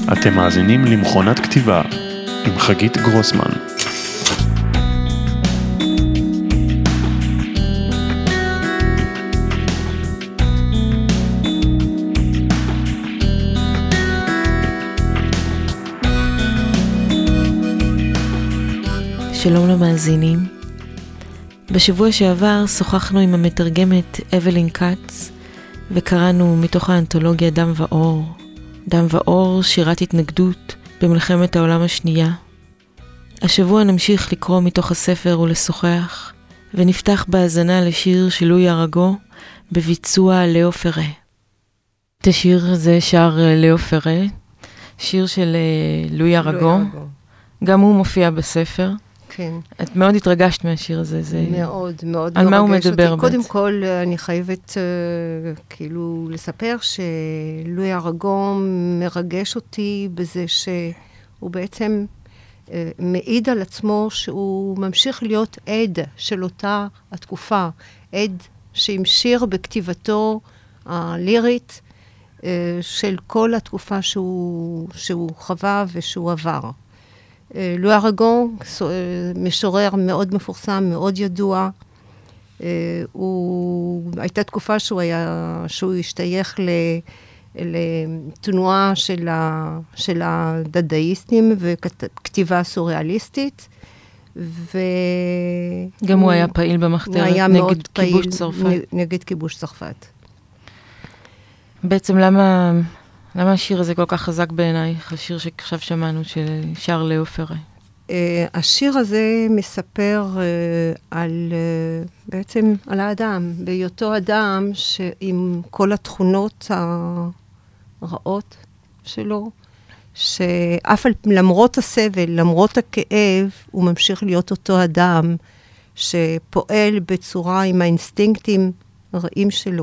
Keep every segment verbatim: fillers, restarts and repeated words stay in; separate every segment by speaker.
Speaker 1: אתם מאזינים למכונת כתיבה עם חגית גרוסמן.
Speaker 2: שלום למאזינים. בשבוע שעבר שוחחנו עם המתרגמת אבלין קאץ וקראנו מתוך האנתולוגיה דם ואור. דם ואור, שירת התנגדות במלחמת העולם השנייה. השבוע נמשיך לקרוא מתוך הספר ולשוחח, ונפתח בהאזנה לשיר של לואי אראגו בביצוע לאו פרה. את השיר הזה שר לאו פרה, שיר של לואי אראגו. גם הוא מופיע בספר.
Speaker 3: כן.
Speaker 2: את מאוד התרגשת מהשיר הזה. זה...
Speaker 3: מאוד, מאוד.
Speaker 2: על מה הוא מדבר?
Speaker 3: קודם כל, אני חייבת uh, כאילו לספר שלואי אראגו מרגש אותי בזה שהוא בעצם uh, מעיד על עצמו שהוא ממשיך להיות עד של אותה התקופה, עד שהמשיך בכתיבתו הלירית uh, של כל התקופה שהוא, שהוא חווה ושהוא עבר. לואי אראגו, משורר מאוד מפורסם, מאוד ידוע. הוא, הייתה תקופה שהוא היה, שהוא השתייך לתנועה של, ה, של הדדאיסטים וכתיבה סוריאליסטית. ו...
Speaker 2: גם הוא, הוא היה פעיל במחתרת נגד כיבוש צרפת.
Speaker 3: נגד כיבוש צרפת.
Speaker 2: בעצם למה... למה השיר הזה כל כך חזק בעינייך, השיר שעכשיו שמענו, של שר לאו פרה?
Speaker 3: Uh, השיר הזה מספר uh, על, uh, בעצם על האדם, בהיותו אדם שעם כל התכונות הרעות שלו, שאף על, למרות הסבל, למרות הכאב, הוא ממשיך להיות אותו אדם שפועל בצורה עם האינסטינקטים הרעים שלו.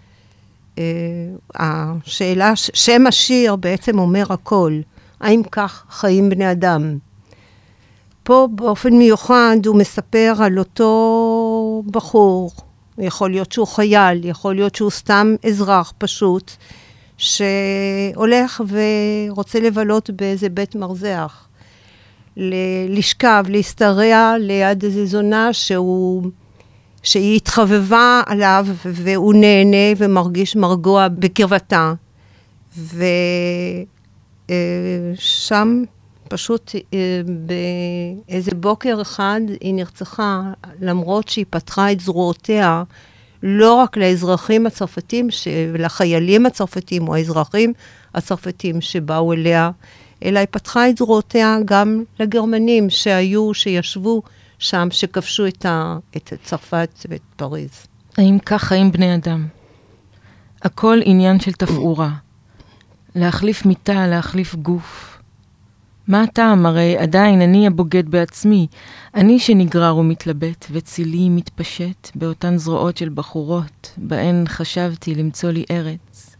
Speaker 3: השאלה, שם השיר בעצם אומר הכל. האם כך חיים בני אדם? פה באופן מיוחד הוא מספר על אותו בחור, יכול להיות שהוא חייל, יכול להיות שהוא סתם אזרח פשוט, שהולך ורוצה לבלות באיזה בית מרזח, לשכב, להסתרע ליד איזו זונה שהוא... שהיא התחבבה עליו, והוא נהנה ומרגיש מרגוע בקרבתה. ושם פשוט באיזה בוקר אחד היא נרצחה, למרות שהיא פתחה את זרועותיה, לא רק לאזרחים הצרפתים, לחיילים הצרפתים או האזרחים הצרפתים שבאו אליה, אלא היא פתחה את זרועותיה גם לגרמנים שהיו, שישבו, שם שכבשו את, ה, את צרפת ואת פריז.
Speaker 2: האם כך חיים בני אדם? הכל עניין של תפאורה. להחליף מיטה, להחליף גוף. מה הטעם? הרי עדיין אני הבוגד בעצמי. אני שנגרר ומתלבט, וצילי מתפשט באותן זרועות של בחורות, בהן חשבתי למצוא לי ארץ.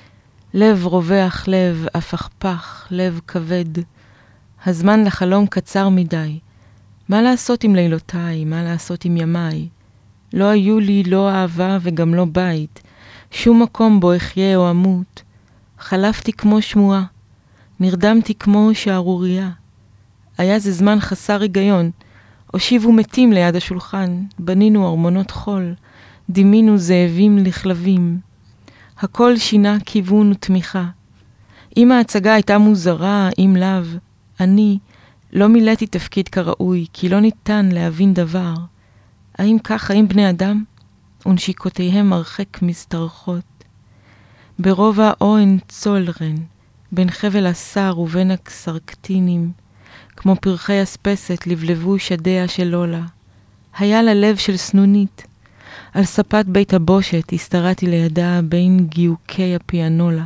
Speaker 2: לב רווח לב, הפכפך, לב כבד. הזמן לחלום קצר מדי. מה לעשות עם לילותיי? מה לעשות עם ימיי? לא היו לי לא אהבה וגם לא בית. שום מקום בו אחיה או אמות. חלפתי כמו שמועה. נרדמתי כמו שערוריה. היה זה זמן חסר היגיון. הושיבו מתים ליד השולחן. בנינו ארמונות חול. דימינו זאבים לכלבים. הכל שינה כיוון ותמיכה. אם ההצגה הייתה מוזרה, אם לאו, אני... לא מילאתי תפקיד כראוי, כי לא ניתן להבין דבר. האם כך חיים בני אדם? ונשיקותיהם הרחק מסתרחות. ברובע אוהן צולרן, בין חבל השר ובין הקסרקטינים, כמו פרחי אספסת לבלבו שדיה של לולה. היה לה לב של סנונית. על ספת בית הבושת הסתרעתי לידה בין גיוקי הפיאנולה.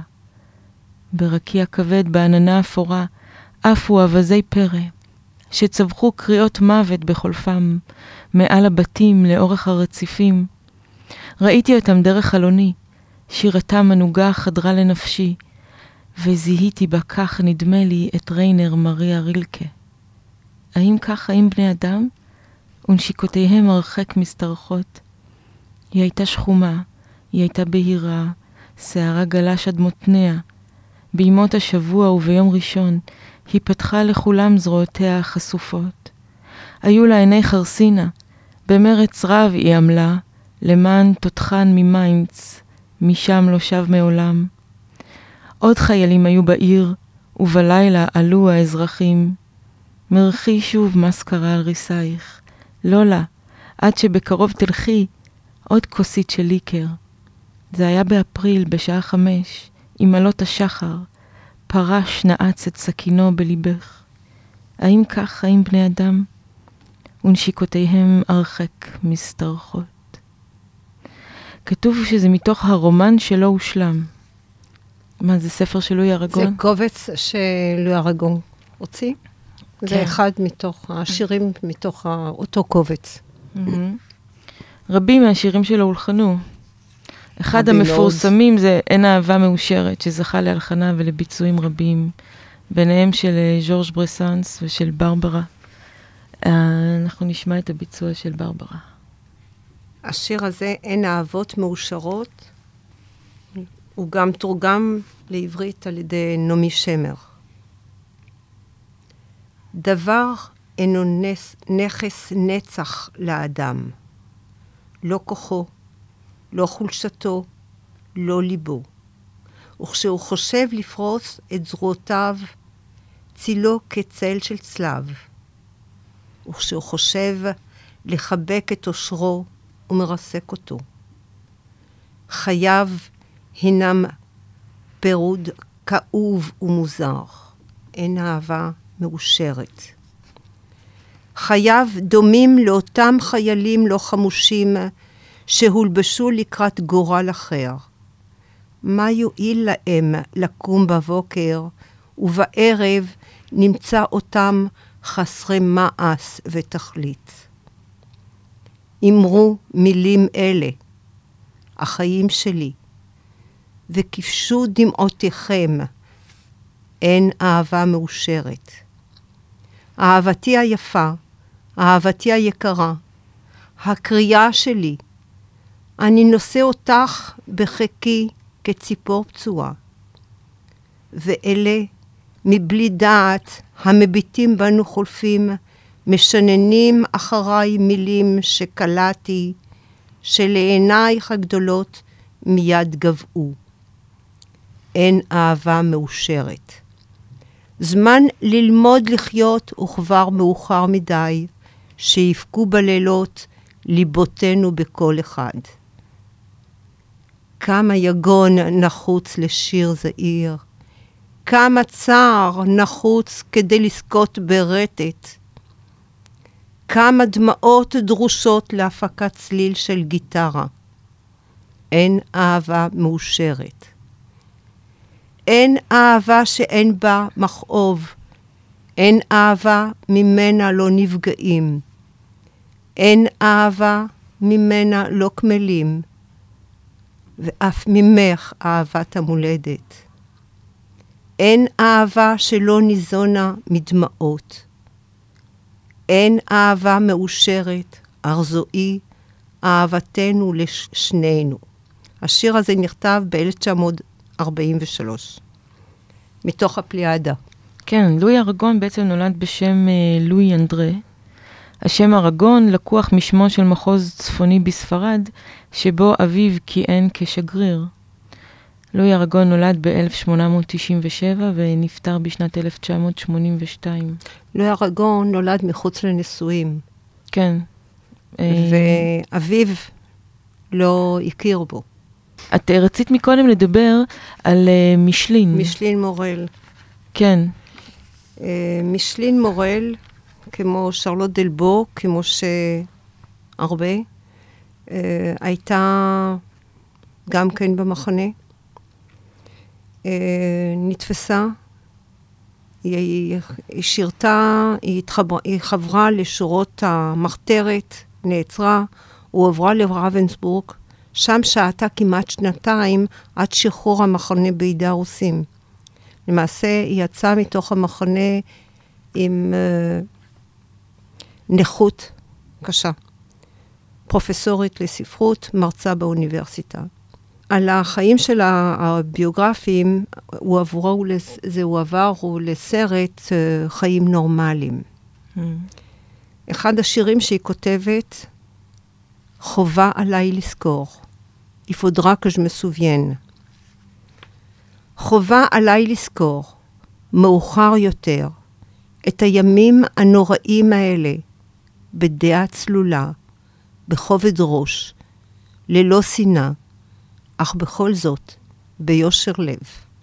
Speaker 2: ברקיע כבד בעננה אפורה, עפו אבזי פרא, שצווחו קריאות מוות בחולפם, מעל הבתים לאורך הרציפים. ראיתי אותם דרך חלוני, שירתם מנוגה חדרה לנפשי, וזיהיתי בה כך נדמה לי את ריינר מריה רילקה. האם כך חיים בני אדם? ונשיקותיהם הרחק מסתרחות. היא הייתה שחומה, היא הייתה בהירה, שערה גלש עד מותניה, בימות השבוע וביום ראשון, היא פתחה לכולם זרועותיה החשופות. היו לה עיני חרסינה, במרץ רב היא עמלה, למען תותחן ממיינץ, משם לא שב מעולם. עוד חיילים היו בעיר, ובלילה עלו האזרחים. מרחי שוב מסקרה על ריסייך, לא לה, עד שבקרוב תלכי עוד כוסית של ליקר. זה היה באפריל בשעה חמש, עם עלות השחר, פרש נעץ את סכינו בליבך. האם כך חיים בני אדם? ונשיקותיהם הרחק מסתרחות. כתוב שזה מתוך הרומן שלא הושלם. מה, זה ספר של לואי ארגון?
Speaker 3: זה קובץ שלואי ארגון הוציא. כן. זה אחד מתוך השירים, מתוך אותו קובץ.
Speaker 2: רבים מהשירים שלו הולחנו. אחד המפורסמים זה אין אהבה מאושרת, שזכה להלחנה ולביצועים רבים, ביניהם של ז'ורג' ברסנס ושל ברברה. אנחנו נשמע את הביצוע של ברברה.
Speaker 3: השיר הזה, אין אהבות מאושרות, הוא גם תורגם לעברית על ידי נעמי שמר. דבר אינו נס, נכס נצח לאדם. לא כוחו, לא חולשתו, לא ליבו. וכשהוא חושב לפרוס את זרועותיו, צילו כצל של צלב. וכשהוא חושב לחבק את אושרו, הוא מרסק אותו. חייו הינם פירוד כאוב ומוזר. אין אהבה מאושרת. חייו דומים לאותם חיילים לא חמושים שהולבשו לקראת גורל אחר. מה יועיל להם לקום בבוקר, ובערב נמצא אותם חסרי מעש ותכלית. אמרו מילים אלה, החיים שלי, וכבשו דמעותיכם, אין אהבה מאושרת. אהבתי היפה, אהבתי היקרה, הקריאה שלי, אני נושא אותך בחיקי כציפור פצועה. ואלה, מבלי דעת, המביטים בנו חולפים, משננים אחריי מילים שקלעתי, שלעינייך הגדולות מיד גבעו. אין אהבה מאושרת. זמן ללמוד לחיות וכבר מאוחר מדי, שיפקו בלילות ליבותינו בכל אחד. כמה יגון נחוץ לשיר זעיר, כמה צער נחוץ כדי לזכות ברטט, כמה דמעות דרושות להפקת צליל של גיטרה. אין אהבה מאושרת. אין אהבה שאין בה מכאוב. אין אהבה ממנה לא נפגעים. אין אהבה ממנה לא כמלים. ואף ממך אהבת המולדת. אין אהבה שלא ניזונה מדמעות. אין אהבה מאושרת, ארזואי, אהבתנו לשנינו. השיר הזה נכתב ב-אלף תשע מאות ארבעים ושלוש, מתוך הפליאדה.
Speaker 2: כן, לואי ארגון בעצם נולד בשם אה, לואי אנדרה. השם ארגון לקוח משמו של מחוז צפוני בספרד, שבו אביו כיהן כשגריר. לואי ארגון נולד ב-אלף שמונה מאות תשעים ושבע ונפטר בשנת אלף תשע מאות שמונים ושתיים.
Speaker 3: לואי ארגון נולד מחוץ לנישואים.
Speaker 2: כן.
Speaker 3: ואביו לא הכיר בו.
Speaker 2: את רצית מקודם לדבר על uh, מישלין.
Speaker 3: מישלין מורל.
Speaker 2: כן.
Speaker 3: Uh, מישלין מורל, כמו שרלוט דלבו, כמו שהרבה, uh, הייתה גם כן במחנה. Uh, נתפסה, היא, היא, היא שירתה, היא, התחבר, היא חברה לשורות המחתרת, נעצרה, הועברה לרוונסבורג, שם שעתה כמעט שנתיים עד שחרור המחנה בידי הרוסים. למעשה היא יצאה מתוך המחנה עם uh, נכות קשה. פרופסורית לספרות, מרצה באוניברסיטה. על החיים של הביוגרפים, הוא עברו, זה הועבר לסרט חיים נורמליים. Mm. אחד השירים שהיא כותבת, חובה עליי לזכור. Il faudra que je me souvienne. חובה עליי לזכור, מאוחר יותר, את הימים הנוראים האלה, בדעה צלולה, בכובד ראש, ללא שנאה, אך בכל זאת, ביושר לב.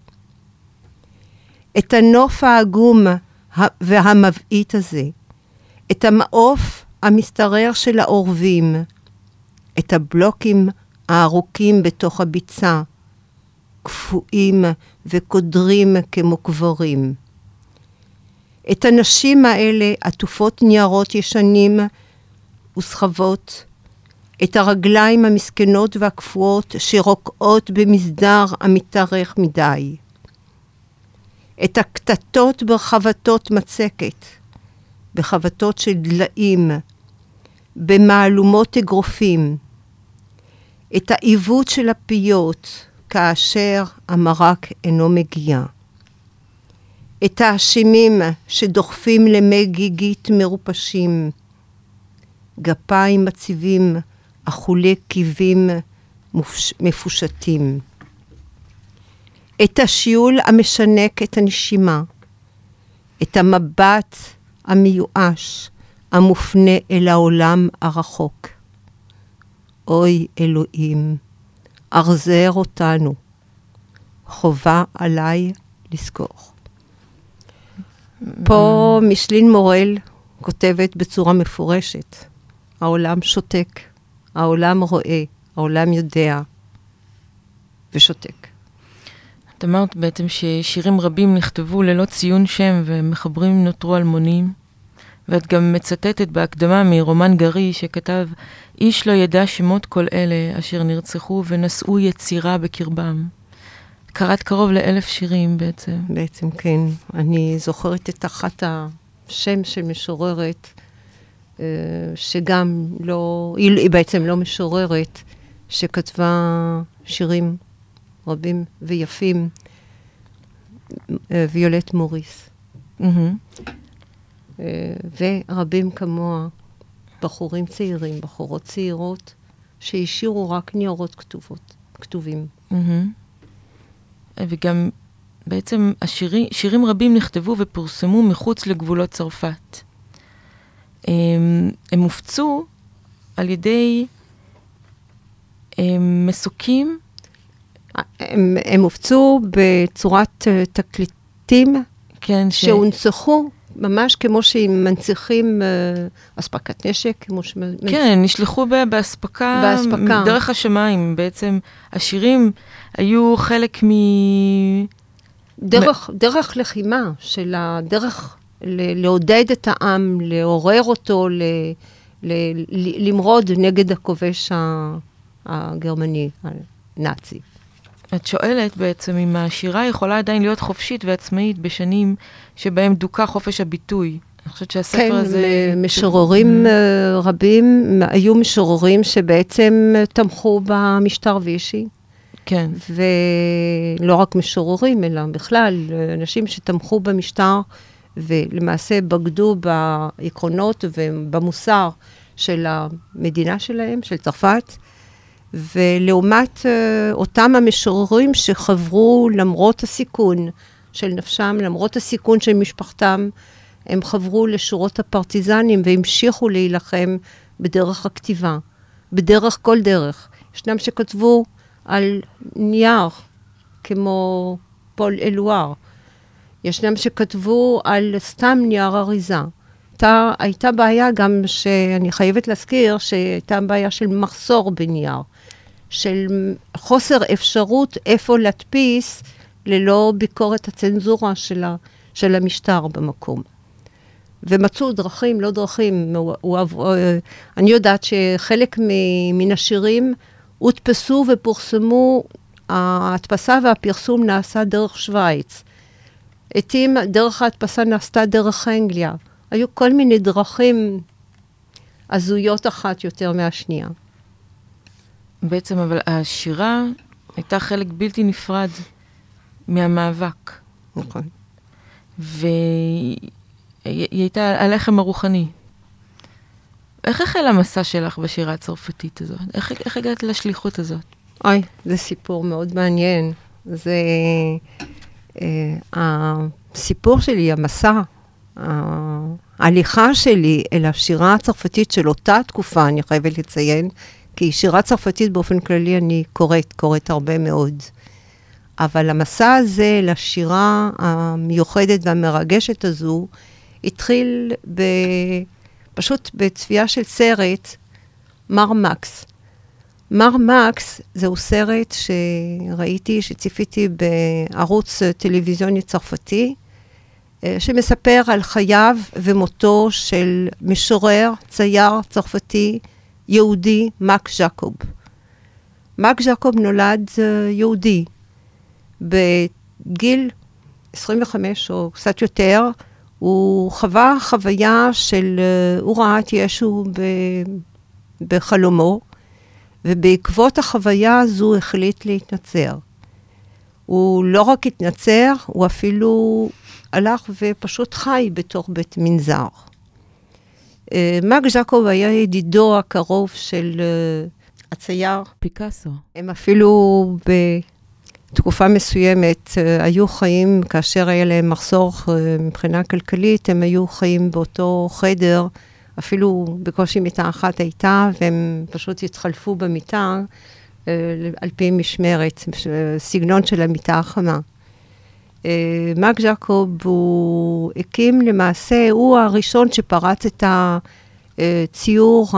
Speaker 3: את הנוף העגום והמבעית הזה, את המעוף המסתרר של העורבים, את הבלוקים הארוכים בתוך הביצה, קפואים וקודרים כמו קברים. את הנשים האלה עטופות ניירות ישנים וסחבות, את הרגליים המסכנות והקפואות שרוקעות במסדר המתארך מדי. את הקטטות ברחבתות מצקת, בחבתות של דליים, במעלומות אגרופים, את העיוות של הפיות כאשר המרק אינו מגיע. את האשמים שדוחפים למי גיגית מרופשים, גפיים מציבים, אכולי קיבים מופש, מפושטים. את השיעול המשנק את הנשימה, את המבט המיואש המופנה אל העולם הרחוק. אוי אלוהים, ארזר אותנו, חובה עליי לזכור. פה מישלין מורל כותבת בצורה מפורשת, העולם שותק, העולם רואה, העולם יודע ושותק.
Speaker 2: את אמרת בעצם ששירים רבים נכתבו ללא ציון שם ומחברים נותרו אלמונים, ואת גם מצטטת בהקדמה מרומן גרי שכתב, איש לא ידע שמות כל אלה אשר נרצחו ונשאו יצירה בקרבם. קראת קרוב לאלף שירים בעצם.
Speaker 3: בעצם כן. אני זוכרת את אחת השם של משוררת, שגם לא, היא בעצם לא משוררת, שכתבה שירים רבים ויפים, ויולט מוריס. ורבים כמוה, בחורים צעירים, בחורות צעירות, שהשאירו רק ניירות כתובות, כתובים.
Speaker 2: וגם בעצם השירים, שירים רבים נכתבו ופורסמו מחוץ לגבולות צרפת. הם, הם הופצו על ידי הם, מסוקים.
Speaker 3: הם, הם הופצו בצורת תקליטים,
Speaker 2: כן, ש...
Speaker 3: שהונצחו ממש כמו שהם מנציחים אספקת נשק, כמו ש...
Speaker 2: כן, נשלחו בהספקה, בהספקה. דרך השמיים. בעצם השירים היו חלק מ...
Speaker 3: דרך, דרך לחימה, של הדרך ל- לעודד את העם, לעורר אותו, ל- ל- ל- למרוד נגד הכובש הגרמני, הנאצי.
Speaker 2: את שואלת בעצם אם השירה יכולה עדיין להיות חופשית ועצמאית בשנים שבהם דוקה חופש הביטוי. אני חושבת שהספר
Speaker 3: כן,
Speaker 2: הזה...
Speaker 3: כן, משוררים mm. רבים, היו משוררים שבעצם תמכו במשטר וישי.
Speaker 2: כן.
Speaker 3: ולא רק משוררים, אלא בכלל, אנשים שתמכו במשטר, ולמעשה בגדו בעקרונות ובמוסר של המדינה שלהם, של צרפת, ולעומת אותם המשוררים שחברו למרות הסיכון של נפשם, למרות הסיכון של משפחתם, הם חברו לשורות הפרטיזנים והמשיכו להילחם בדרך הכתיבה, בדרך כל דרך. ישנם שכתבו על נייר, כמו פול אלואר. ישנם שכתבו על סתם נייר אריזה. הייתה, הייתה בעיה גם שאני חייבת להזכיר, שהייתה בעיה של מחסור בנייר, של חוסר אפשרות איפה להדפיס ללא ביקורת הצנזורה של, ה, של המשטר במקום. ומצאו דרכים, לא דרכים. הוא, הוא, אני יודעת שחלק מן השירים הודפסו ופורסמו, ההדפסה והפרסום נעשה דרך שוויץ. עתים דרך ההדפסה נעשתה דרך אנגליה. היו כל מיני דרכים הזויות אחת יותר מהשנייה.
Speaker 2: בעצם, אבל השירה הייתה חלק בלתי נפרד מהמאבק.
Speaker 3: נכון.
Speaker 2: והיא הייתה הלחם הרוחני. איך החל המסע שלך בשירה הצרפתית הזאת? איך, איך הגעת לשליחות הזאת?
Speaker 3: אוי, זה סיפור מאוד מעניין. זה אה, הסיפור שלי, המסע, ההליכה שלי אל השירה הצרפתית של אותה תקופה, אני חייבת לציין, כי שירה צרפתית באופן כללי אני קוראת, קוראת הרבה מאוד. אבל המסע הזה לשירה המיוחדת והמרגשת הזו, התחיל ב... פשוט בצפייה של סרט, מר מקס. מר מקס זהו סרט שראיתי, שציפיתי בערוץ טלוויזיוני צרפתי, שמספר על חייו ומותו של משורר, צייר צרפתי, יהודי, מק ז'קוב. מק ז'קוב נולד יהודי. בגיל עשרים וחמש או קצת יותר, הוא חווה חוויה של, הוא ראה את ישו ב, בחלומו, ובעקבות החוויה הזו החליט להתנצר. הוא לא רק התנצר, הוא אפילו הלך ופשוט חי בתוך בית מנזר. מק ז'קוב היה ידידו הקרוב של הצייר
Speaker 2: פיקאסו.
Speaker 3: הם אפילו בתקופה מסוימת היו חיים, כאשר היה להם מחסור מבחינה כלכלית, הם היו חיים באותו חדר, אפילו בקושי מיטה אחת הייתה, והם פשוט התחלפו במיטה על פי משמרת, סגנון של המיטה החמה. מק ז'קוב הוא הקים למעשה, הוא הראשון שפרץ את הציור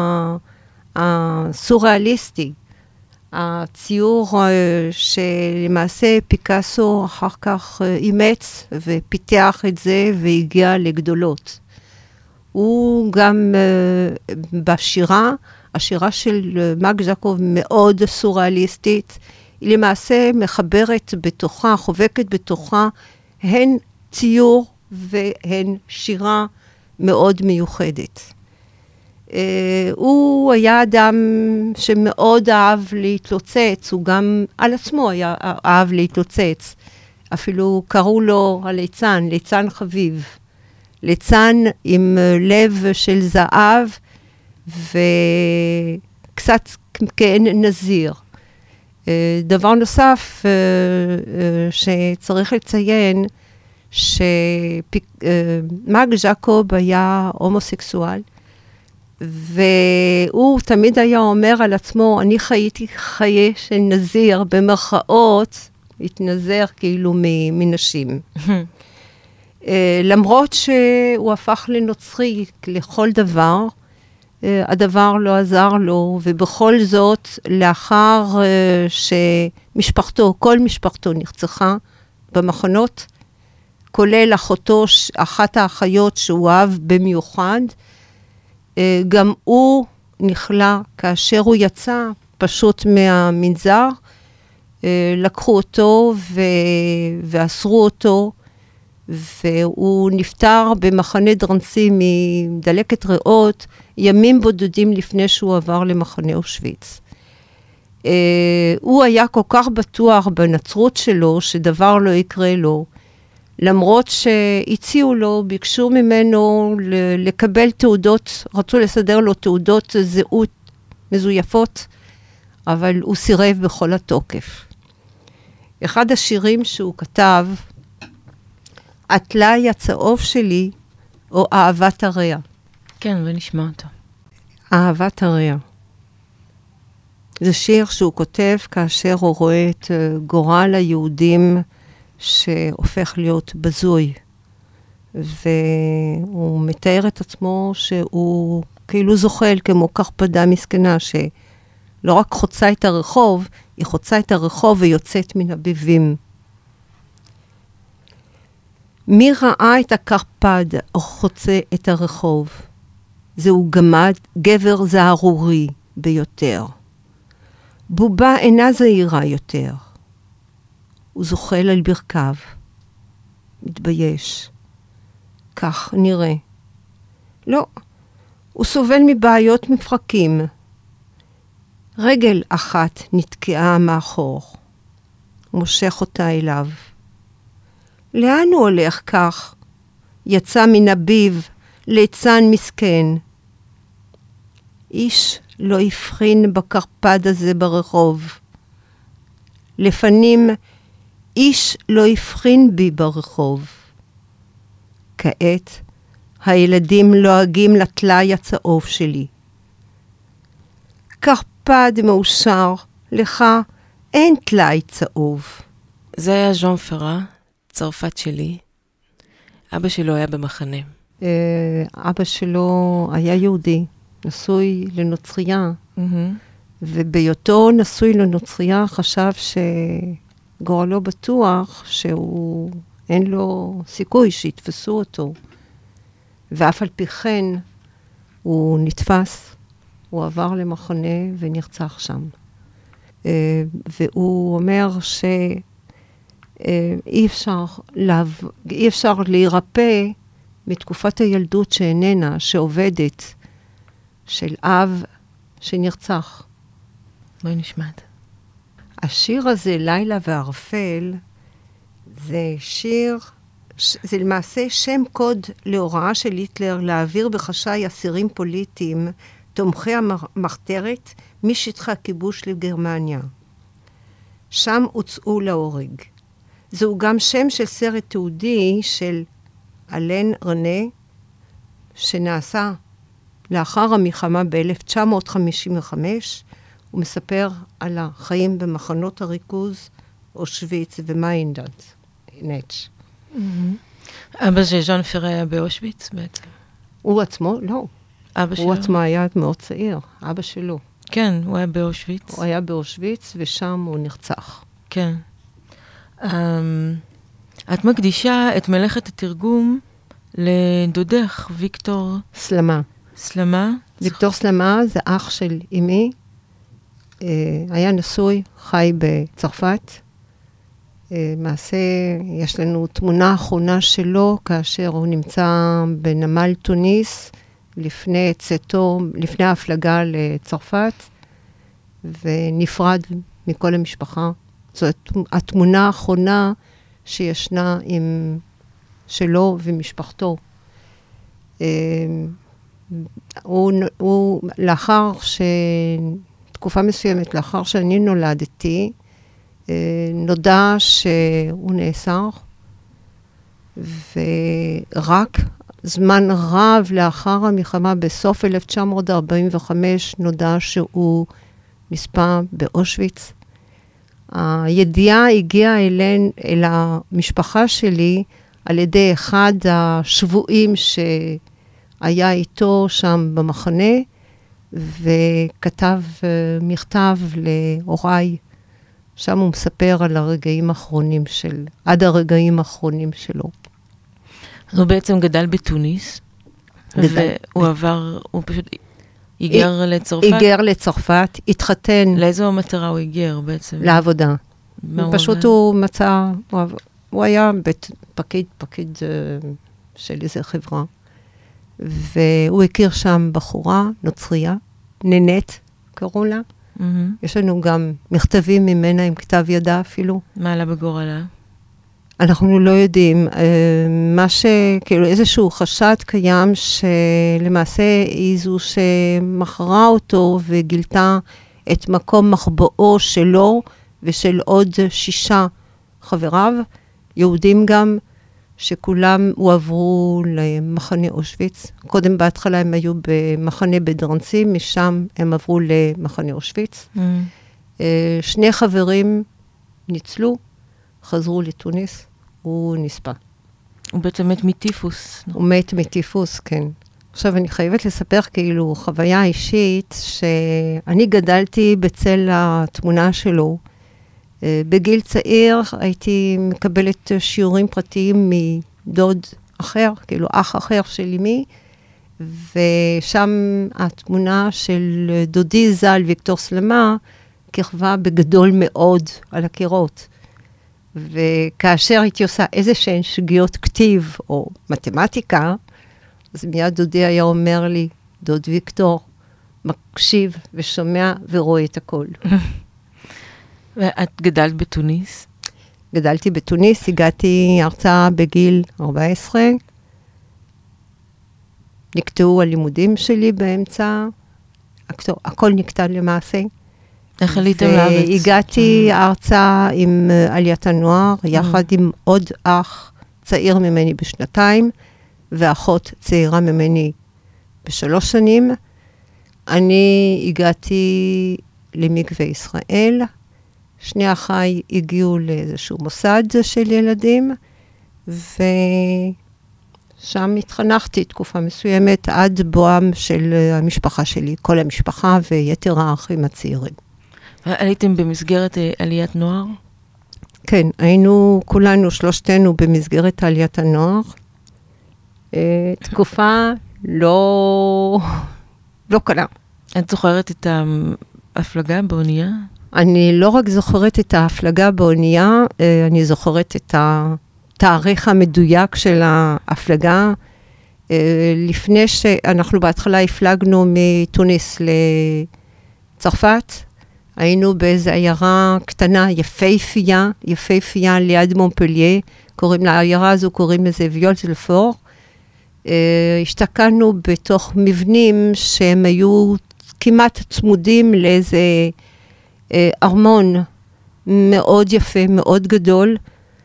Speaker 3: הסוריאליסטי, הציור שלמעשה פיקאסו אחר כך אימץ ופיתח את זה והגיע לגדולות. הוא גם בשירה, השירה של מק ז'קוב מאוד סוריאליסטית, היא למעשה מחברת בתוכה, חובקת בתוכה, הן ציור והן שירה מאוד מיוחדת. Uh, הוא היה אדם שמאוד אהב להתלוצץ, הוא גם על עצמו היה אהב להתלוצץ. אפילו קראו לו הליצן, ליצן חביב. ליצן עם לב של זהב וקצת כעין נזיר. דבר נוסף שצריך לציין, שמק ז'קוב היה הומוסקסואל, והוא תמיד היה אומר על עצמו, אני חייתי חיי של נזיר, במרכאות, התנזר כאילו מנשים. למרות שהוא הפך לנוצרי לכל דבר, הדבר לא עזר לו, ובכל זאת, לאחר שמשפחתו, כל משפחתו נרצחה במחנות, כולל אחותו, אחת האחיות שהוא אהב במיוחד, גם הוא נכלה כאשר הוא יצא פשוט מהמנזר, לקחו אותו ואסרו אותו, והוא נפטר במחנה דרנסי מדלקת ריאות, ימים בודדים לפני שהוא עבר למחנה אושוויץ. Uh, הוא היה כל כך בטוח בנצרות שלו, שדבר לא יקרה לו, למרות שהציעו לו, ביקשו ממנו לקבל תעודות, רצו לסדר לו תעודות זהות מזויפות, אבל הוא סירב בכל התוקף. אחד השירים שהוא כתב, הטלאי הצהוב שלי, או אהבת הרע.
Speaker 2: כן, ונשמע אותו.
Speaker 3: אהבת הרע. זה שיר שהוא כותב כאשר הוא רואה את גורל היהודים שהופך להיות בזוי. והוא מתאר את עצמו שהוא כאילו זוחל כמו קרפדה מסכנה, שלא רק חוצה את הרחוב, היא חוצה את הרחוב ויוצאת מן הביבים. מי ראה את הקרפד או חוצה את הרחוב? זהו גמד, גבר זערורי ביותר. בובה אינה זהירה יותר. הוא זוחל על ברכיו. מתבייש. כך נראה. לא, הוא סובל מבעיות מפרקים. רגל אחת נתקעה מאחור. מושך אותה אליו. לאן הוא הולך כך? יצא מן הביב, ליצן מסכן. איש לא הבחין בקרפד הזה ברחוב. לפנים איש לא הבחין בי ברחוב. כעת הילדים לועגים לטלאי הצהוב שלי. קרפד מאושר, לך אין טלאי צהוב.
Speaker 2: זה היה ז'אן פרה, צרפת שלי. אבא שלו היה במחנה.
Speaker 3: אבא שלו היה יהודי, נשוי לנוצריה,
Speaker 2: Mm-hmm.
Speaker 3: ובהיותו נשוי לנוצריה חשב שגורלו בטוח שהוא אין לו סיכוי שיתפסו אותו. ואף על פי כן הוא נתפס, הוא עבר למחנה ונרצח שם. והוא אומר שאי אפשר, להב... אי אפשר להירפא מתקופת הילדות שאיננה, שעובדת, של אב שנרצח.
Speaker 2: בואי נשמעת.
Speaker 3: השיר הזה, לילה וערפל, זה שיר, זה למעשה שם קוד להוראה של היטלר להעביר בחשאי אסירים פוליטיים, תומכי המחתרת, משטחי הכיבוש לגרמניה. שם הוצאו להורג. זהו גם שם של סרט תיעודי של אלן רנה, שנעשה לאחר המלחמה ב-אלף תשע מאות חמישים וחמש, הוא מספר על החיים במחנות הריכוז, אושוויץ ומיינדנט. נץ'.
Speaker 2: אבא של ז'אן פרה היה באושוויץ בעצם?
Speaker 3: הוא עצמו? לא.
Speaker 2: אבא שלו?
Speaker 3: הוא עצמו היה מאוד צעיר, אבא שלו.
Speaker 2: כן, הוא היה באושוויץ.
Speaker 3: הוא היה באושוויץ ושם הוא נרצח.
Speaker 2: כן. Um, את מקדישה את מלאכת התרגום לדודך, ויקטור...
Speaker 3: סלמה.
Speaker 2: סלמה?
Speaker 3: ויקטור סלמה זה אח של אמי. Uh, היה נשוי, חי בצרפת. Uh, מעשה, יש לנו תמונה אחרונה שלו, כאשר הוא נמצא בנמל טוניס, לפני צאתו, לפני ההפלגה לצרפת, ונפרד מכל המשפחה. זאת התמונה האחרונה שישנה עם שלו ומשפחתו. הוא, הוא, לאחר ש... תקופה מסוימת, לאחר שאני נולדתי, נודע שהוא נאסר, ורק זמן רב לאחר המלחמה, בסוף אלף תשע מאות ארבעים וחמש, נודע שהוא נספה באושוויץ. הידיעה הגיעה אלינו, אל המשפחה שלי, על ידי אחד השבועים שהיה איתו שם במחנה, וכתב מכתב להוריי. שם הוא מספר על הרגעים האחרונים של, עד הרגעים האחרונים שלו.
Speaker 2: הוא בעצם גדל בתוניס, והוא עבר, הוא פשוט היגר לצרפת?
Speaker 3: היגר לצרפת, התחתן.
Speaker 2: לאיזו מטרה הוא היגר בעצם?
Speaker 3: לעבודה. פשוט הוא מצא, הוא, הוא היה פקיד, פקיד של איזו חברה, והוא הכיר שם בחורה, נוצריה, ננט, קראו לה. Mm-hmm. יש לנו גם מכתבים ממנה עם כתב ידה אפילו.
Speaker 2: מה עלה בגורלה?
Speaker 3: אנחנו לא יודעים. מה ש... כאילו איזשהו חשד קיים שלמעשה היא זו שמכרה אותו וגילתה את מקום מחבואו שלו ושל עוד שישה חבריו, יהודים גם, שכולם הועברו למחנה אושוויץ. קודם בהתחלה הם היו במחנה בדרנסי, משם הם עברו למחנה אושוויץ. Mm. שני חברים ניצלו, חזרו לתוניס, הוא נספה.
Speaker 2: הוא בעצם מת מטיפוס.
Speaker 3: הוא מת מטיפוס, כן. עכשיו אני חייבת לספר כאילו חוויה אישית, שאני גדלתי בצל התמונה שלו. בגיל צעיר הייתי מקבלת שיעורים פרטיים מדוד אחר, כאילו אח אחר של אמי, ושם התמונה של דודי ז"ל, ויקטור סלמה, כיכבה בגדול מאוד על הקירות. וכאשר הייתי עושה איזה שהן שגיאות כתיב או מתמטיקה, אז מיד דודי היה אומר לי, דוד ויקטור, מקשיב ושומע ורואה את הכל.
Speaker 2: ואת גדלת בתוניס?
Speaker 3: גדלתי בתוניס, הגעתי ארצה בגיל ארבע עשרה, נקטעו הלימודים שלי באמצע, הכל נקטע למעשה.
Speaker 2: איך עליתם לארץ?
Speaker 3: והגעתי ארצה עם עליית הנוער, יחד עם עוד אח צעיר ממני בשנתיים, ואחות צעירה ממני בשלוש שנים. אני הגעתי למקווה ישראל, שני אחיי הגיעו לאיזשהו מוסד של ילדים, ושם התחנכתי תקופה מסוימת עד בואם של המשפחה שלי, כל המשפחה ויתר האחים הצעירים.
Speaker 2: עליתם במסגרת עליית נוער?
Speaker 3: כן, היינו כולנו, שלושתנו, במסגרת עליית הנוער. תקופה לא, לא קלה.
Speaker 2: את זוכרת את ההפלגה באונייה?
Speaker 3: אני לא רק זוכרת את ההפלגה באונייה, אני זוכרת את התאריך המדויק של ההפלגה. לפני שאנחנו בהתחלה הפלגנו מתוניס לצרפת, היינו באיזו עיירה קטנה, יפהפייה, יפהפייה ליד מונפלייה, קוראים לעיירה הזו, קוראים לזה ויולט-לפור. השתקענו בתוך מבנים שהם היו כמעט צמודים לאיזה ארמון מאוד יפה, מאוד גדול,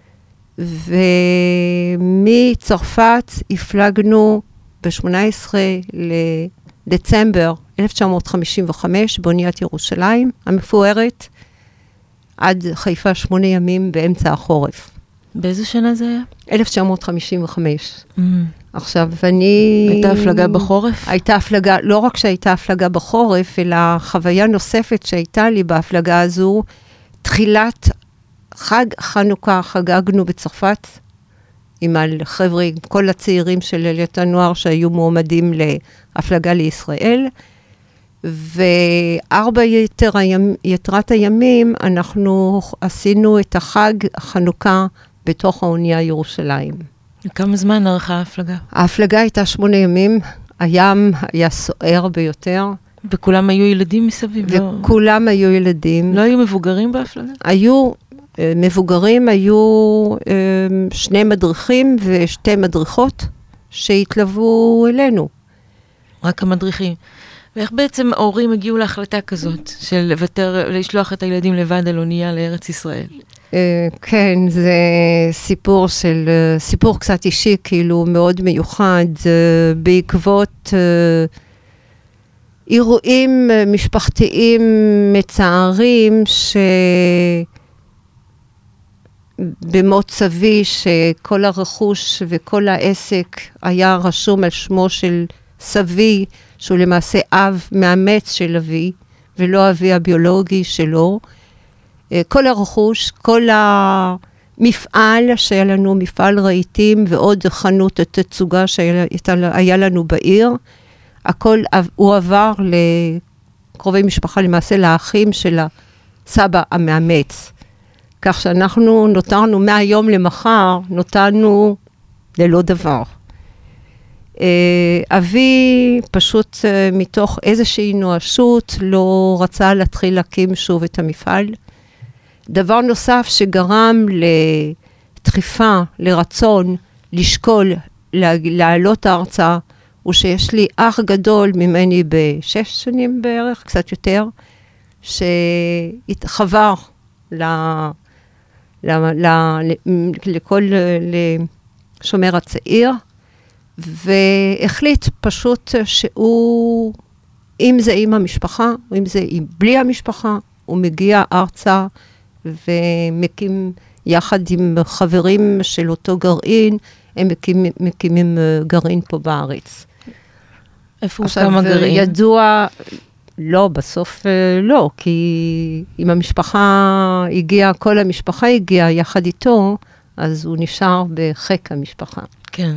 Speaker 3: ומצרפת הפלגנו ב-שמונה עשרה לדצמבר אלף תשע מאות חמישים וחמש באוניית ירושלים המפוארת, עד חיפה שמונה ימים באמצע החורף.
Speaker 2: באיזה שנה זה היה?
Speaker 3: אלף תשע מאות חמישים וחמש. Mm. עכשיו, אני...
Speaker 2: הייתה הפלגה בחורף?
Speaker 3: הייתה הפלגה, לא רק שהייתה הפלגה בחורף, אלא חוויה נוספת שהייתה לי בהפלגה הזו, תחילת חג חנוכה חגגנו בצרפת, עם החבר'ה, כל הצעירים של עליית הנוער שהיו מועמדים להפלגה לישראל, וארבע יתר הימ, יתרת הימים, אנחנו עשינו את החג חנוכה בתוך האונייה ירושלים.
Speaker 2: כמה זמן ערכה ההפלגה?
Speaker 3: ההפלגה הייתה שמונה ימים, הים היה סוער ביותר.
Speaker 2: וכולם היו ילדים מסביב?
Speaker 3: וכולם לא... היו ילדים.
Speaker 2: לא היו מבוגרים בהפלגה?
Speaker 3: היו מבוגרים, היו שני מדריכים ושתי מדריכות שהתלוו אלינו.
Speaker 2: רק המדריכים. ואיך בעצם ההורים הגיעו להחלטה כזאת, של לוותר, לשלוח את הילדים לבד על אונייה לארץ ישראל?
Speaker 3: כן, זה סיפור של, סיפור קצת אישי, כאילו מאוד מיוחד, בעקבות אירועים משפחתיים מצערים, שבמות סבי, שכל הרכוש וכל העסק היה רשום על שמו של סבי, שהוא למעשה אב מאמץ של אבי, ולא אבי הביולוגי שלו. כל הרכוש, כל המפעל שהיה לנו, מפעל רהיטים, ועוד חנות התצוגה שהיה לנו בעיר, הכל הוא עבר לקרובי משפחה, למעשה לאחים של הסבא המאמץ. כך שאנחנו נותרנו מהיום למחר, נותרנו ללא דבר. אבי פשוט מתוך איזושהי נואשות לא רצה להתחיל להקים שוב את המפעל. דבר נוסף שגרם לדחיפה, לרצון, לשקול, לעלות הארצה, הוא שיש לי אח גדול ממני בשש שנים בערך, קצת יותר, שהתחבר ל, ל, ל, לכל, לשומר הצעיר, והחליט פשוט שהוא, אם זה עם המשפחה, או אם זה בלי המשפחה, הוא מגיע ארצה ומקים יחד עם חברים של אותו גרעין, הם מקימים, מקימים גרעין פה בארץ.
Speaker 2: איפה הוא כמה גרעין?
Speaker 3: ידוע, לא, בסוף לא, כי אם המשפחה הגיעה, כל המשפחה הגיעה יחד איתו, אז הוא נשאר בחק המשפחה.
Speaker 2: כן.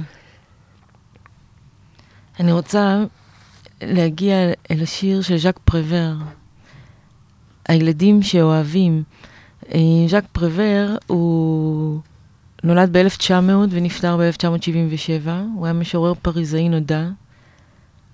Speaker 2: אני רוצה להגיע אל השיר של ז'אק פרוור, הילדים שאוהבים. ז'אק פרוור הוא נולד ב-אלף תשע מאות ונפטר ב-אלף תשע מאות שבעים ושבע, הוא היה משורר פריזאי נודע,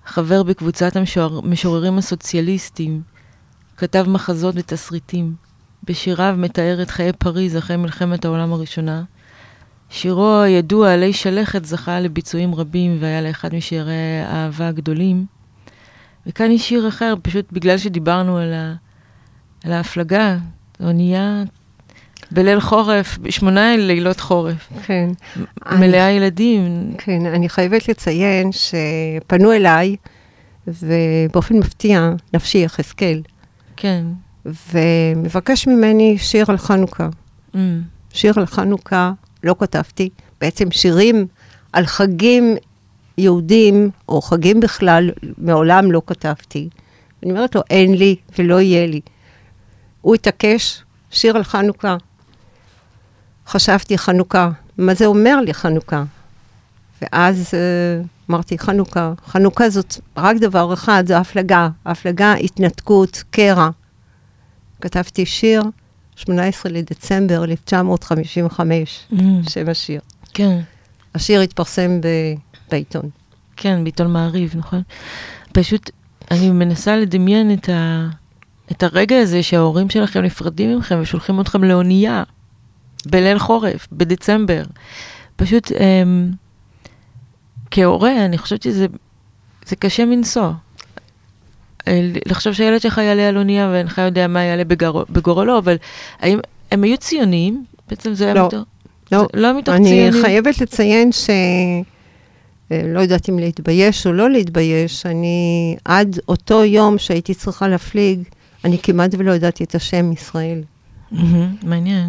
Speaker 2: חבר בקבוצת המשוררים הסוציאליסטים, כתב מחזות ותסריטים. בשיריו מתאר את חיי פריז אחרי מלחמת העולם הראשונה. שירו הידוע עלי שלכת זכה לביצועים רבים והיה לאחד משירי האהבה הגדולים. וכאן יש שיר אחר, פשוט בגלל שדיברנו על, ה... על ההפלגה, אונייה בליל חורף, שמונה לילות חורף. כן. מלאה אני... ילדים.
Speaker 3: כן, אני חייבת לציין שפנו אליי, ובאופן מפתיע, נפשי יחזקאל.
Speaker 2: כן.
Speaker 3: ומבקש ממני שיר על חנוכה. Mm. שיר על חנוכה, לא כתבתי, בעצם שירים על חגים יהודים, או חגים בכלל, מעולם לא כתבתי. אני אומרת לו, אין לי ולא יהיה לי. הוא התעקש, שיר על חנוכה. חשבתי חנוכה, מה זה אומר לי חנוכה? ואז uh, אמרתי חנוכה, חנוכה זאת רק דבר אחד, זו הפלגה, הפלגה, התנתקות, קרע. כתבתי שיר, שמונה עשרה לדצמבר אלף תשע מאות חמישים וחמש, mm. שם השיר.
Speaker 2: כן.
Speaker 3: השיר התפרסם ב... בעיתון.
Speaker 2: כן, בעיתון מעריב, נכון? פשוט, אני מנסה לדמיין את, ה... את הרגע הזה שההורים שלכם נפרדים ממכם ושולחים אתכם לאונייה, בליל חורף, בדצמבר. פשוט, אמ... כהורה, אני חושבת שזה זה קשה מנסוע. לחשוב שהילד שלך יעלה על אונייה, ואינך יודע מה יעלה בגור... בגורלו, אבל האם הם היו ציוניים? בעצם זה היה
Speaker 3: לא,
Speaker 2: מתוך...
Speaker 3: לא.
Speaker 2: זה לא מתוך
Speaker 3: אני
Speaker 2: ציונים.
Speaker 3: אני חייבת לציין ש... לא יודעת אם להתבייש או לא להתבייש, אני עד אותו יום שהייתי צריכה להפליג, אני כמעט ולא ידעתי את השם ישראל.
Speaker 2: מעניין.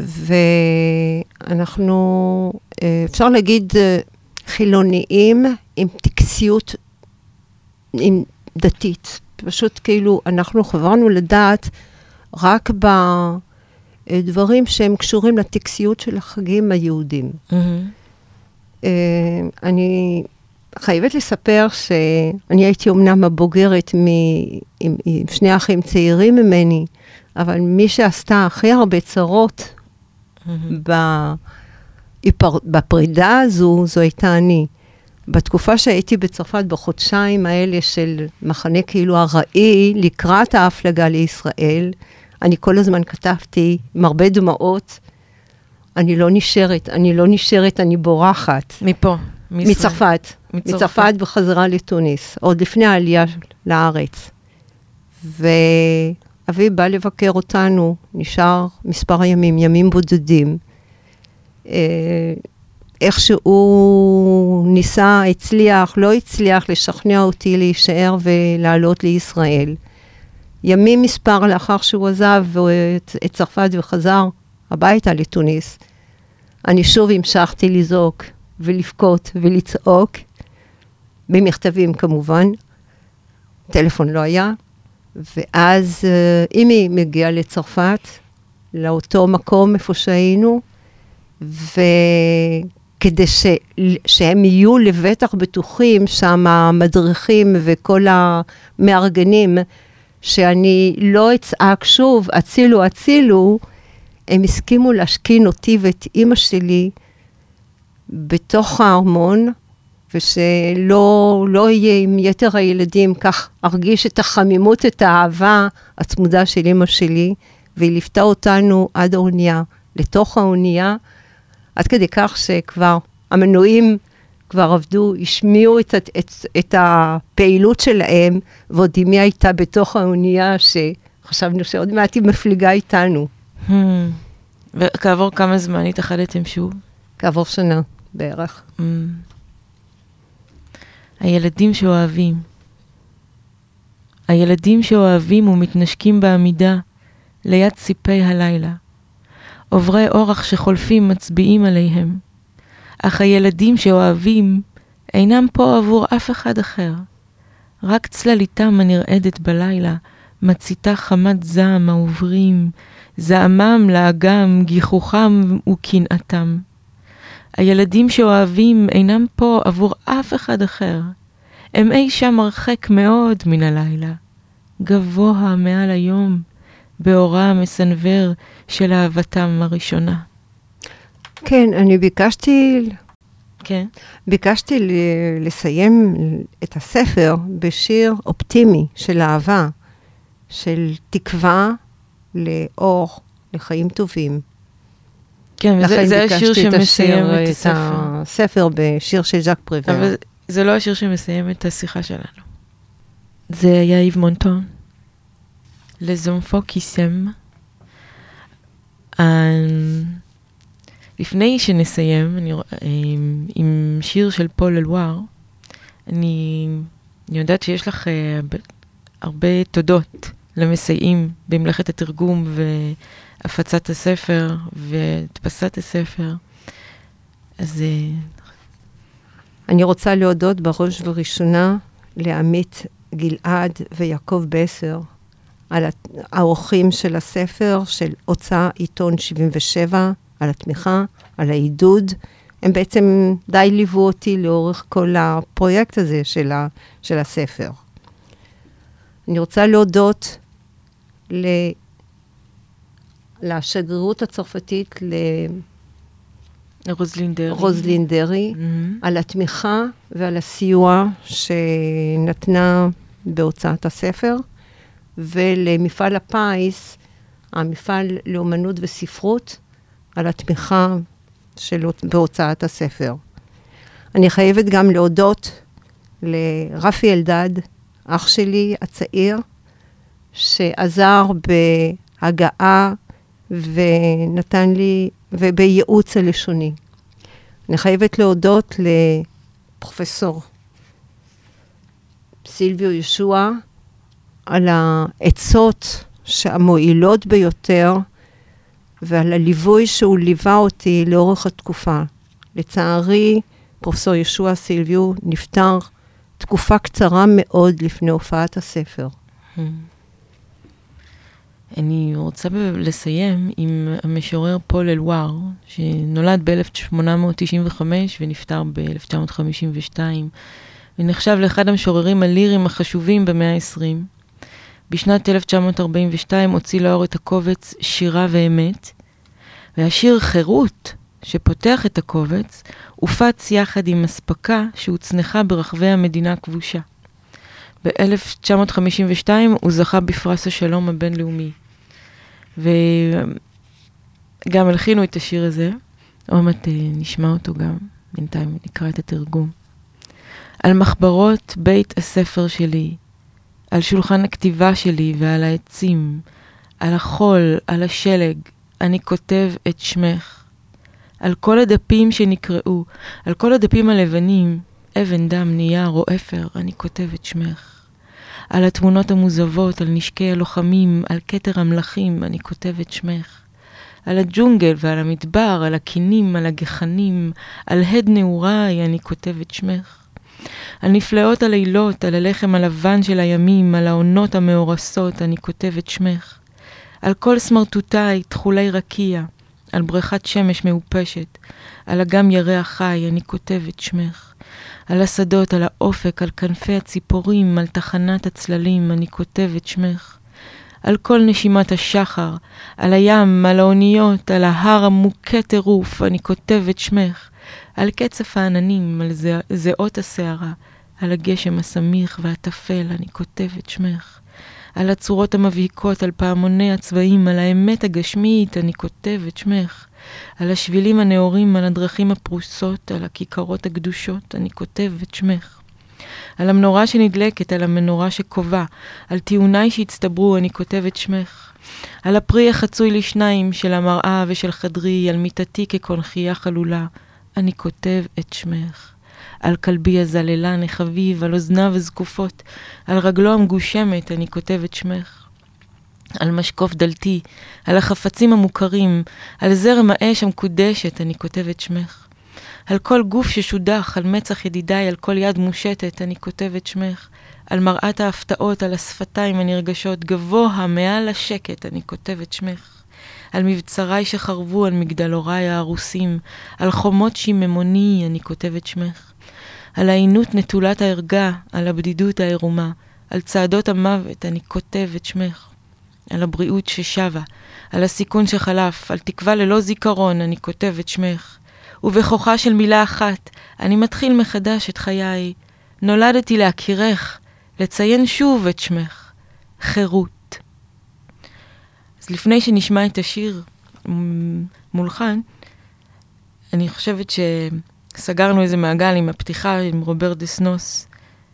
Speaker 3: ואנחנו, אפשר להגיד, חילוניים עם טקסיות, עם דתית. פשוט כאילו אנחנו חברנו לדעת רק בדברים שהם קשורים לטקסיות של החגים היהודים. Mm-hmm. אני חייבת לספר שאני הייתי אומנם הבוגרת מ... עם, עם שני אחים צעירים ממני, אבל מי שעשתה הכי הרבה צרות mm-hmm. בפרידה הזו, זו הייתה אני. בתקופה שהייתי בצרפת בחודשיים האלה של מחנה כאילו הראי, לקראת ההפלגה לישראל, אני כל הזמן כתבתי עם הרבה דמעות, אני לא נשארת, אני לא נשארת, אני בורחת.
Speaker 2: מפה?
Speaker 3: מישראל. מצרפת. מצרפת. מצרפת בחזרה לתוניס, עוד לפני העלייה לארץ. ואבי בא לבקר אותנו, נשאר מספר ימים, ימים בודדים. איכשהו ניסה, הצליח, לא הצליח לשכנע אותי להישאר ולעלות לישראל. ימים מספר לאחר שהוא עזב את, את צרפת וחזר הביתה לתוניס, אני שוב המשכתי לזעוק ולבכות ולצעוק, במכתבים כמובן, טלפון לא היה, ואז אמי מגיעה לצרפת, לאותו מקום איפה שהיינו, וכדי ש... שהם יהיו לבטח בטוחים, שם המדריכים וכל המארגנים, שאני לא אצעק שוב, הצילו, הצילו, הם הסכימו להשכין אותי ואת אמא שלי בתוך הארמון, ושלא לא יהיה עם יתר הילדים, כך ארגיש את החמימות, את האהבה הצמודה של אמא שלי, והיא ליוותה אותנו עד האונייה, לתוך האונייה, עד כדי כך שכבר המנועים כבר עבדו, השמיעו את, את, את הפעילות שלהם, ועוד אמי הייתה בתוך האונייה, שחשבנו שעוד מעט היא מפליגה איתנו.
Speaker 2: Hmm. וכעבור כמה זמן התאחדתם שוב?
Speaker 3: כעבור שנה בערך.
Speaker 2: Hmm. הילדים שאוהבים. הילדים שאוהבים ומתנשקים בעמידה, ליד ציפי הלילה. עוברי אורח שחולפים מצביעים עליהם. אך הילדים שאוהבים אינם פה עבור אף אחד אחר. רק צלליתם הנרעדת בלילה, מציתה חמת זעם העוברים, זעמם לאגם, גיחוכם וקנאתם. הילדים שאוהבים אינם פה עבור אף אחד אחר. הם אי שם הרחק מאוד מן הלילה, גבוה מעל היום, באורה המסנבר של אהבתם הראשונה.
Speaker 3: כן, אני ביקשתי
Speaker 2: כן.
Speaker 3: ביקשתי ל- לסיים את הספר בשיר אופטימי של אהבה, של תקווה לאור, לחיים טובים.
Speaker 2: כן, וזה זה השיר שמסיים את, את הספר.
Speaker 3: את הספר בשיר של ז'אק פריבר.
Speaker 2: אבל זה לא השיר שמסיים את השיחה שלנו. זה היה איב מונטון. Les enfants qui s'aiment. לפני שנסיים, אני, עם, עם שיר של פול אלואר, אני, אני יודעת שיש לך הרבה, הרבה תודות למסייעים במלאכת התרגום והפצת הספר והדפסת הספר. אז
Speaker 3: אני רוצה להודות בראש וראשונה לעמית גלעד ויעקב בסר, על האורחים של הספר, של הוצאה עיתון שבעים ושבע, על התמיכה, על העידוד. הם בעצם די ליוו אותי לאורך כל הפרויקט הזה של, ה, של הספר. אני רוצה להודות ל, לשגרירות הצרפתית,
Speaker 2: לרוזלין דרי,
Speaker 3: רוזלין דרי
Speaker 2: mm-hmm.
Speaker 3: על התמיכה ועל הסיוע שנתנה בהוצאת הספר, ולמפעל הפיס, המפעל לאומנות וספרות, על התמיכה שלו בהוצאת הספר. אני חייבת גם להודות לרפי אלדד, אח שלי הצעיר, שעזר בהגעה ונתן לי, ובייעוץ הלשוני. אני חייבת להודות לפרופסור סילביו ישוע, על העצות המועילות ביותר, ועל הליווי שהוא ליווה אותי לאורך התקופה. לצערי, פרופסור ישוע סילביו נפטר תקופה קצרה מאוד לפני הופעת הספר.
Speaker 2: אני רוצה לסיים עם המשורר פול אלואר, שנולד ב-אלף שמונה מאות תשעים וחמש ונפטר ב-אלף תשע מאות חמישים ושתיים, ונחשב לאחד המשוררים הליריים החשובים במאה ה-עשרים. בשנת אלף תשע מאות ארבעים ושתיים הוציא לאור את הקובץ שירה ואמת, והשיר חירות, שפותח את הקובץ, הופץ יחד עם אספקה שהוצנחה ברחבי המדינה הכבושה. ב-אלף תשע מאות חמישים ושתיים הוא זכה בפרס השלום הבינלאומי. וגם הלחינו את השיר הזה, עוד מעט נשמע אותו גם, בינתיים נקרא את התרגום. על מחברות בית הספר שלי, על שולחן הכתיבה שלי ועל העצים, על החול, על השלג, אני כותב את שמך. על כל הדפים שנקראו, על כל הדפים הלבנים, אבן, דם, נייר או אפר, אני כותב את שמך. על התמונות המוזבות, על נשקי הלוחמים, על כתר המלאכים, אני כותב את שמך. על הג'ונגל ועל המדבר, על הקינים, על הגחנים, על הד נעוריי, אני כותב את שמך. על נפלאות הלילות, על הלחם הלבן של הימים, על העונות המאורסות, אני כותב את שמך. על כל סמרטוטיי, תחולי רקיע, על בריכת שמש מאופשת, על אגם ירח חי, אני כותב את שמך. על השדות, על האופק, על כנפי הציפורים, על תחנת הצללים, אני כותב את שמך. על כל נשימת השחר, על הים, על האוניות, על ההר המוכה טירוף, אני כותב את שמך. על קצף העננים, על זעות השערה, על הגשם הסמיך והטפל, אני כותב את שמך. על הצורות המבהיקות, על פעמוני הצבעים, על האמת הגשמית, אני כותב את שמך. על השבילים הנאורים, על הדרכים הפרוסות, על הכיכרות הקדושות, אני כותב את שמך. על המנורה שנדלקת, על המנורה שקובע, על טיעוניי שהצטברו, אני כותב את שמך. על הפרי החצוי לשניים של המראה ושל חדרי, על מיטתי כקונחייה חלולה, אני כותב את שמך. על כלבי הזללן החביב, על אוזניו הזקופות, על רגלו המגושמת, אני כותב את שמך. על משקוף דלתי, על החפצים המוכרים, על זרם האש המקודשת, אני כותב את שמך. על כל גוף ששודח, על מצח ידידיי, על כל יד מושטת, אני כותב את שמך. על מראת ההפתעות, על השפתיים הנרגשות, גבוה מעל השקט, אני כותב את שמך. על מבצריי שחרבו, על מגדלוריי הרוסים, על חומות שיממוני, אני כותב את שמך. על העינות נטולת הערגה, על הבדידות העירומה, על צעדות המוות, אני כותב את שמך. על הבריאות ששבה, על הסיכון שחלף, על תקווה ללא זיכרון, אני כותב את שמך. ובכוחה של מילה אחת, אני מתחיל מחדש את חיי. נולדתי להכירך, לציין שוב את שמך. חירות. אז לפני שנשמע את השיר מולחן, אני חושבת שסגרנו איזה מעגל עם הפתיחה עם רוברט דסנוס,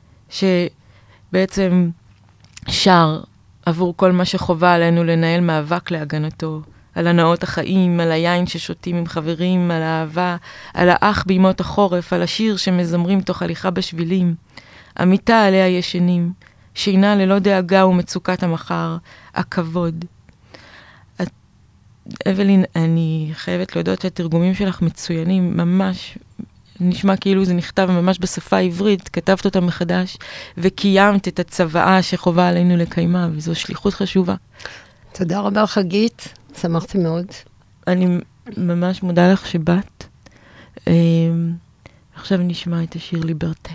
Speaker 2: שבעצם שר עבור כל מה שחובה עלינו לנהל מאבק להגנתו, על הנאות החיים, על היין ששותים עם חברים, על האהבה, על האח בימות החורף, על השיר שמזמרים תוך הליכה בשבילים, המיטה עליה ישנים, שינה ללא דאגה ומצוקת המחר, הכבוד. את, אבלין, אני חייבת להודות שהתרגומים שלך מצוינים, ממש נשמע כאילו זה נכתב ממש בשפה העברית, כתבת אותה מחדש, וקיימת את הצוואה שחובה עלינו לקיימה, וזו שליחות חשובה.
Speaker 3: תודה רבה חגית, שמחתי מאוד.
Speaker 2: אני ממש מודה לך שבאת. עכשיו נשמע את השיר ליברטה.